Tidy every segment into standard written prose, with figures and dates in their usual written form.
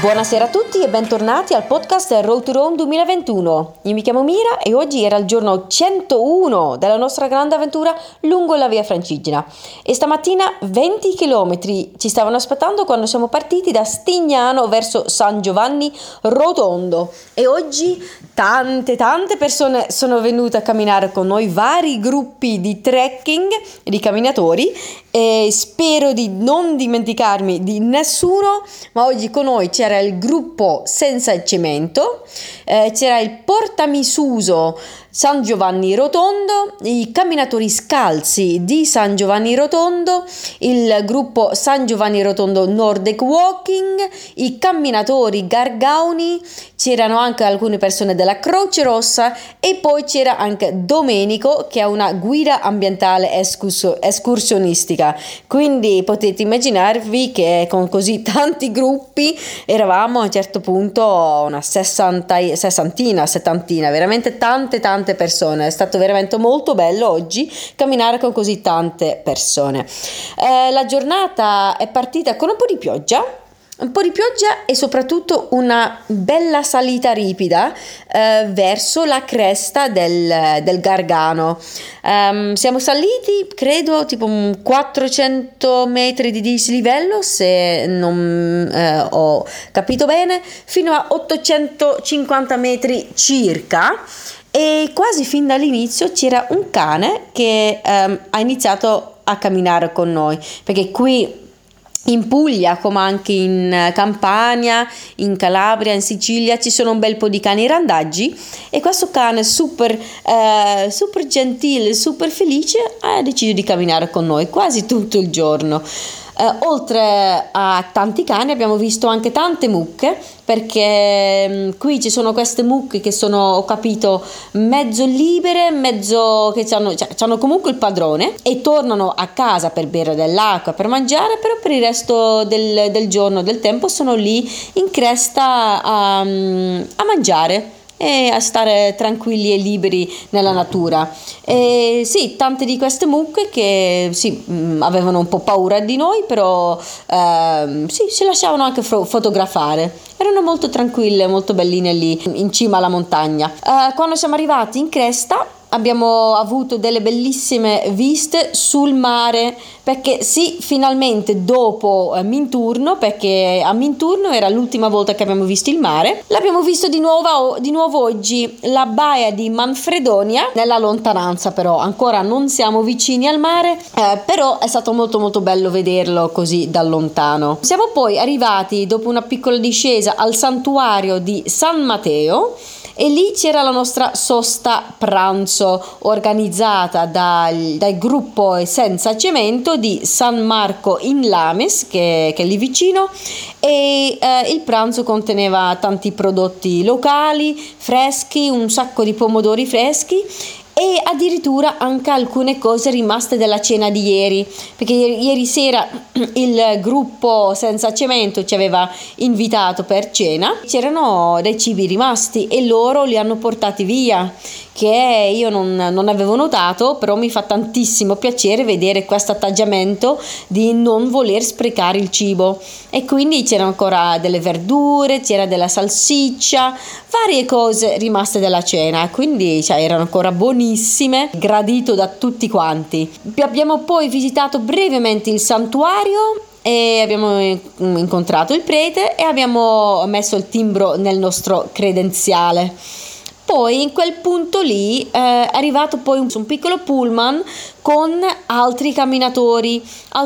Buonasera a tutti e bentornati al podcast Road to Rome 2021. Io mi chiamo Mira e oggi era il giorno 101 della nostra grande avventura lungo la via Francigena. E stamattina 20 chilometri ci stavano aspettando quando siamo partiti da Stignano verso San Giovanni Rotondo. E oggi tante persone sono venute a camminare con noi, vari gruppi di trekking, di camminatori, e spero di non dimenticarmi di nessuno, ma oggi con noi c'era il gruppo Senza Cemento, c'era il Portamisuso San Giovanni Rotondo, i camminatori scalzi di San Giovanni Rotondo, il gruppo San Giovanni Rotondo Nordic Walking, i camminatori Gargauni, c'erano anche alcune persone della Croce Rossa e poi c'era anche Domenico che è una guida ambientale escursionistica. Quindi potete immaginarvi che con così tanti gruppi eravamo a un certo punto una sessantina, settantina, veramente tante persone. È stato veramente molto bello oggi camminare con così tante persone. La giornata è partita con un po' di pioggia e soprattutto una bella salita ripida verso la cresta del Gargano. Siamo saliti credo tipo 400 metri di dislivello, se non ho capito bene, fino a 850 metri circa. E quasi fin dall'inizio c'era un cane che ha iniziato a camminare con noi, perché qui in Puglia, come anche in Campania, in Calabria, in Sicilia, ci sono un bel po' di cani randaggi, e questo cane super gentile, super felice, ha deciso di camminare con noi quasi tutto il giorno. Oltre a tanti cani abbiamo visto anche tante mucche, perché qui ci sono queste mucche che sono, ho capito, mezzo libere, mezzo che hanno comunque il padrone e tornano a casa per bere dell'acqua, per mangiare, però per il resto del giorno, del tempo, sono lì in cresta a mangiare e a stare tranquilli e liberi nella natura. E sì, tante di queste mucche che sì, avevano un po' paura di noi, però sì, si lasciavano anche fotografare. Erano molto tranquille, molto belline lì in cima alla montagna. Quando siamo arrivati in cresta abbiamo avuto delle bellissime viste sul mare, perché sì, finalmente dopo Minturno, perché a Minturno era l'ultima volta che abbiamo visto il mare, l'abbiamo visto di nuovo oggi, la baia di Manfredonia, nella lontananza, però ancora non siamo vicini al mare, però è stato molto bello vederlo così da lontano. Siamo poi arrivati dopo una piccola discesa al santuario di San Matteo, e lì c'era la nostra sosta pranzo organizzata dal gruppo Senza Cemento di San Marco in Lamis, che è lì vicino, e il pranzo conteneva tanti prodotti locali, freschi, un sacco di pomodori freschi e addirittura anche alcune cose rimaste dalla cena di ieri, perché ieri sera il gruppo Senza Cemento ci aveva invitato per cena, c'erano dei cibi rimasti e loro li hanno portati via, che io non avevo notato, però mi fa tantissimo piacere vedere questo atteggiamento di non voler sprecare il cibo. E quindi c'erano ancora delle verdure, c'era della salsiccia, varie cose rimaste dalla cena, quindi erano ancora buonissime, gradito da tutti quanti. Abbiamo poi visitato brevemente il santuario e abbiamo incontrato il prete e abbiamo messo il timbro nel nostro credenziale. Poi in quel punto lì è arrivato poi un piccolo pullman con altri camminatori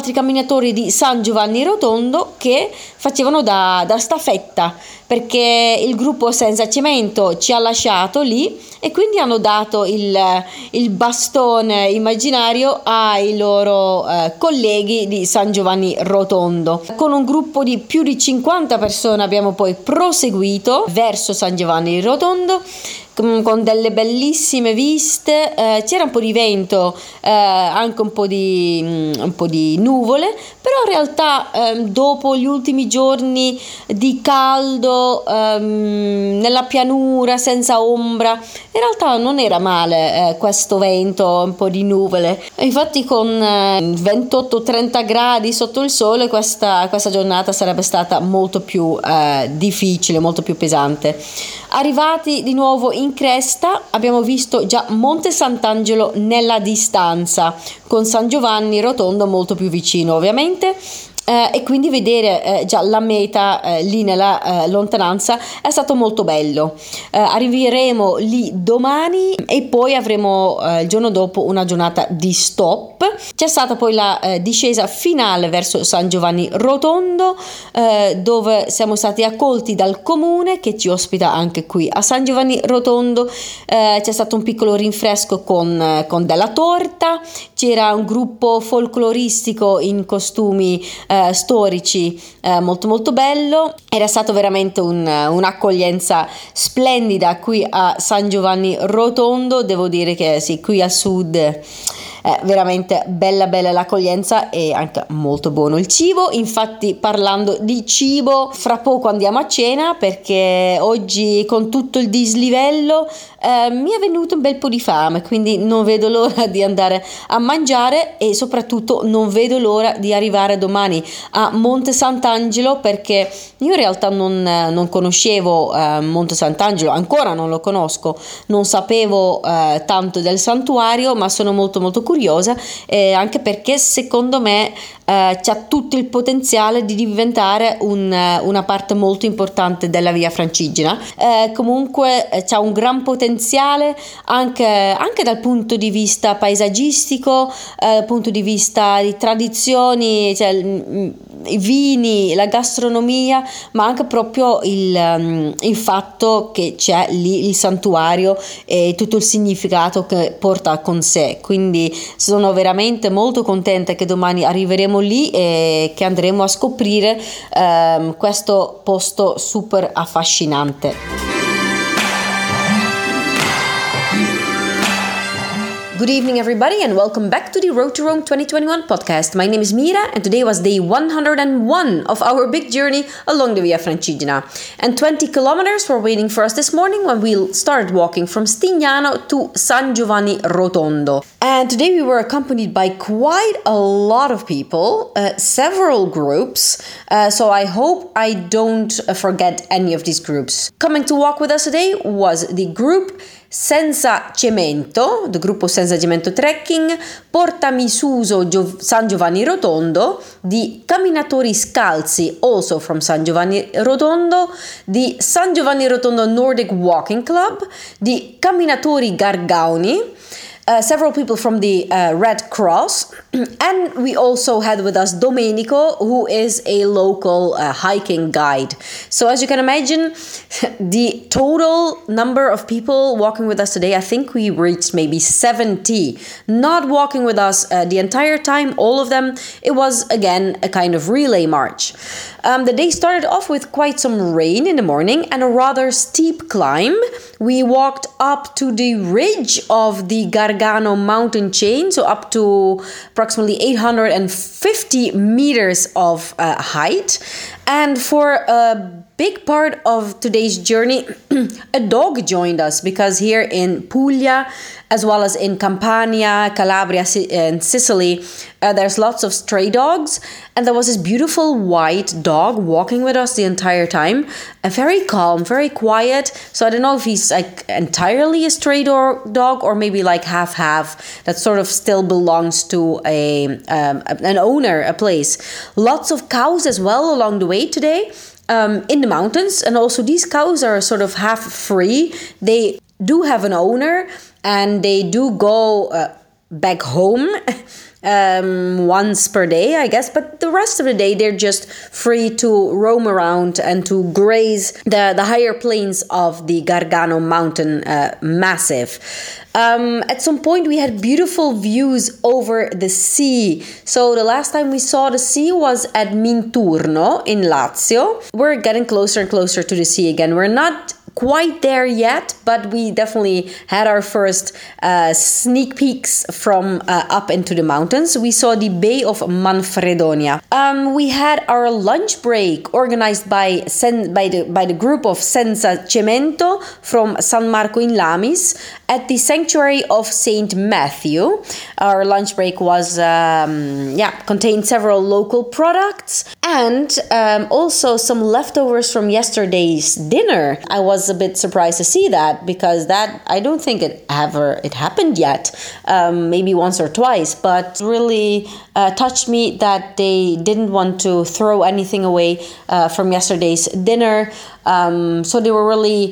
di San Giovanni Rotondo che facevano da staffetta, perché il gruppo Senza Cemento ci ha lasciato lì e quindi hanno dato il bastone immaginario ai loro colleghi di San Giovanni Rotondo. Con un gruppo di più di 50 persone abbiamo poi proseguito verso San Giovanni Rotondo con delle bellissime viste. C'era un po' di vento anche un po' di nuvole, però in realtà dopo gli ultimi giorni di caldo nella pianura senza ombra, in realtà non era male questo vento, un po' di nuvole. Infatti con 28-30 gradi sotto il sole questa giornata sarebbe stata molto più difficile, molto più pesante. Arrivati di nuovo in cresta abbiamo visto già Monte Sant'Angelo nella distanza, con San Giovanni Rotondo molto più vicino ovviamente. E quindi vedere già la meta lì nella lontananza è stato molto bello. Arriveremo lì domani e poi avremo il giorno dopo una giornata di stop. C'è stata poi la discesa finale verso San Giovanni Rotondo, dove siamo stati accolti dal comune che ci ospita anche qui a San Giovanni Rotondo. C'è stato un piccolo rinfresco con della torta, c'era un gruppo folcloristico in costumi storici molto molto bello. Era stato veramente un'accoglienza splendida qui a San Giovanni Rotondo. Devo dire che sì, qui al sud è veramente bella l'accoglienza e anche molto buono il cibo. Infatti, parlando di cibo, fra poco andiamo a cena perché oggi con tutto il dislivello mi è venuto un bel po' di fame, quindi non vedo l'ora di andare a mangiare e soprattutto non vedo l'ora di arrivare domani a Monte Sant'Angelo, perché io in realtà non conoscevo Monte Sant'Angelo, ancora non lo conosco, non sapevo tanto del santuario, ma sono molto molto curiosa, anche perché secondo me c'ha tutto il potenziale di diventare una parte molto importante della Via Francigena. Comunque c'ha un gran potenziale anche dal punto di vista paesaggistico, dal punto di vista di tradizioni, cioè i vini, la gastronomia, ma anche proprio il fatto che c'è lì il santuario e tutto il significato che porta con sé. Quindi sono veramente molto contenta che domani arriveremo lì e che andremo a scoprire questo posto super affascinante. Good evening, everybody, and welcome back to the Road to Rome 2021 podcast. My name is Mira, and today was day 101 of our big journey along the Via Francigena. And 20 kilometers were waiting for us this morning when we started walking from Stignano to San Giovanni Rotondo. And today we were accompanied by quite a lot of people, several groups, so I hope I don't forget any of these groups. Coming to walk with us today was the group Senza Cemento, the gruppo Senza Cemento Trekking, Portami Suso San Giovanni Rotondo, di Camminatori Scalzi, also from San Giovanni Rotondo, di San Giovanni Rotondo Nordic Walking Club, di Camminatori Gargauni, several people from the Red Cross, and we also had with us Domenico, who is a local hiking guide. So as you can imagine, the total number of people walking with us today, I think we reached maybe 70, not walking with us the entire time, all of them. It was again a kind of relay march. The day started off with quite some rain in the morning and a rather steep climb. We walked up to the ridge of the Gargano mountain chain, so up to approximately 850 meters of height. And for a big part of today's journey, a dog joined us, because here in Puglia, as well as in Campania, Calabria, and Sicily, there's lots of stray dogs. And there was this beautiful white dog walking with us the entire time. Very calm, very quiet. So I don't know if he's like entirely a stray dog or maybe like half that sort of still belongs to an owner, a place. Lots of cows as well along the way today. In the mountains, and also these cows are sort of half free. They do have an owner and they do go back home once per day, I guess, but the rest of the day they're just free to roam around and to graze the higher plains of the Gargano mountain massif. At some point we had beautiful views over the sea. So the last time we saw the sea was at Minturno in Lazio. We're getting closer and closer to the sea again. We're not quite there yet, but we definitely had our first sneak peeks from up into the mountains. We saw the Bay of Manfredonia. We had our lunch break organized by the group of Senza Cemento from San Marco in Lamis at the sanctuary of Saint Matthew. Our lunch break was contained several local products and also some leftovers from yesterday's dinner. I was a bit surprised to see that, because that I don't think it happened yet, maybe once or twice, but really touched me that they didn't want to throw anything away from yesterday's dinner. So they were really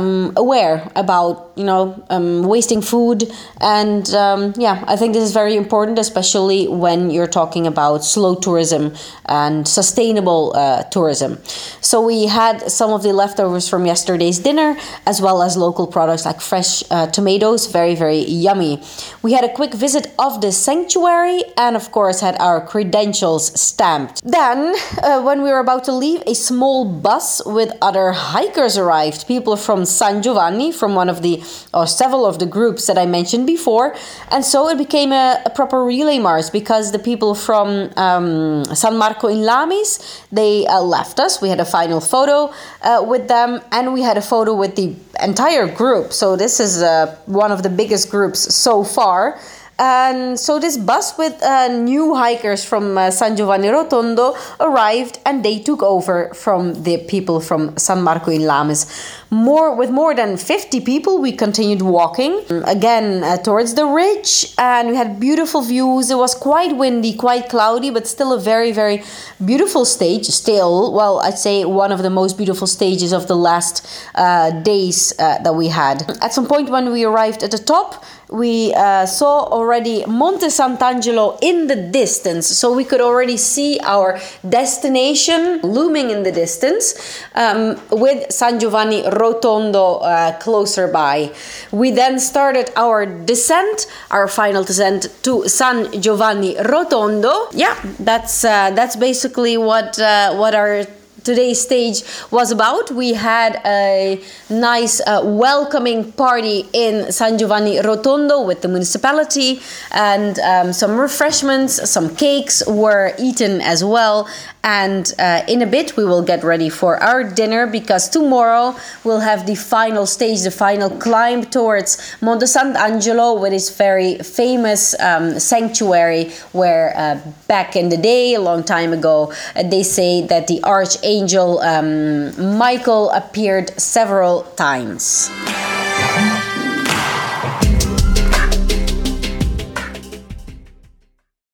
aware about, wasting food. And I think this is very important, especially when you're talking about slow tourism and sustainable tourism. So we had some of the leftovers from yesterday's dinner, as well as local products like fresh tomatoes, very, very yummy. We had a quick visit of the sanctuary and, of course, had our credentials stamped. Then, when we were about to leave, a small bus with other hikers arrived, people from San Giovanni, from several of the groups that I mentioned before. And so it became a proper relay march, because the people from San Marco in Lamis, they left us. We had a final photo with them, and we had a photo with the entire group. So this is one of the biggest groups so far. And so this bus with new hikers from San Giovanni Rotondo arrived, and they took over from the people from San Marco in Lamis. With more than 50 people, we continued walking again towards the ridge, and we had beautiful views. It was quite windy, quite cloudy, but still a very, very beautiful stage. I'd say one of the most beautiful stages of the last days that we had. At some point when we arrived at the top, we saw already Monte Sant'Angelo in the distance. So we could already see our destination looming in the distance, with San Giovanni Rotondo closer by. We then started our descent, our final descent to San Giovanni Rotondo. Yeah, that's basically what our today's stage was about. We had a nice welcoming party in San Giovanni Rotondo with the municipality, and some refreshments, some cakes were eaten as well. And in a bit we will get ready for our dinner, because tomorrow we'll have the final stage, the final climb towards Monte Sant'Angelo, with its very famous sanctuary where back in the day, a long time ago, they say that the archangel Michael appeared several times.